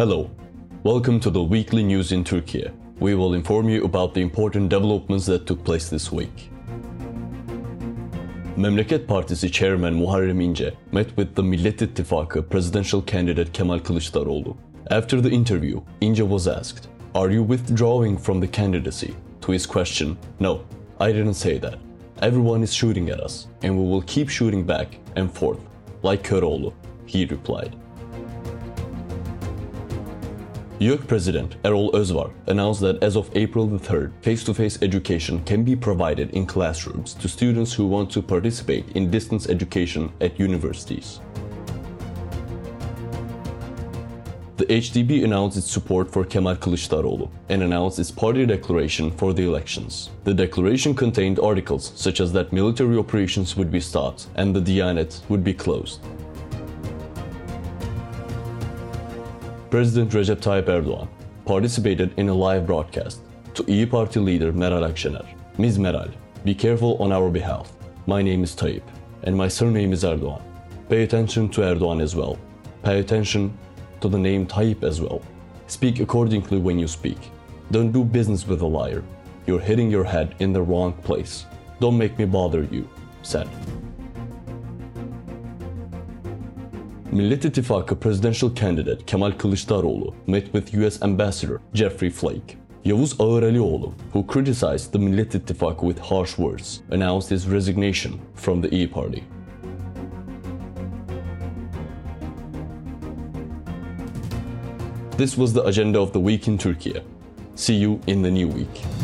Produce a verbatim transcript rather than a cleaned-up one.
Hello, welcome to the weekly news in Turkey. We will inform you about the important developments that took place this week. Memleket Partisi Chairman Muharrem İnce met with the Millet İttifakı presidential candidate Kemal Kılıçdaroğlu. After the interview, İnce was asked, "Are you withdrawing from the candidacy?" To his question, "No, I didn't say that. Everyone is shooting at us, and we will keep shooting back and forth, like Köroğlu," he replied. YÖK President Erol Özvar announced that as of April the third, face-to-face education can be provided in classrooms to students who want to participate in distance education at universities. The H D P announced its support for Kemal Kılıçdaroğlu and announced its party declaration for the elections. The declaration contained articles such as that military operations would be stopped and the Diyanet would be closed. President Recep Tayyip Erdoğan participated in a live broadcast to İYİ Party leader Meral Akşener. Miz Meral, be careful on our behalf. My name is Tayyip, and my surname is Erdoğan. Pay attention to Erdoğan as well. Pay attention to the name Tayyip as well. Speak accordingly when you speak. Don't do business with a liar. You're hitting your head in the wrong place. Don't make me bother you, said. Millet İttifakı presidential candidate Kemal Kılıçdaroğlu met with U S Ambassador Jeffrey Flake. Yavuz Ağıralioğlu, who criticized the Millet İttifakı with harsh words, announced his resignation from the İYİ Party. This was the agenda of the week in Turkey. See you in the new week.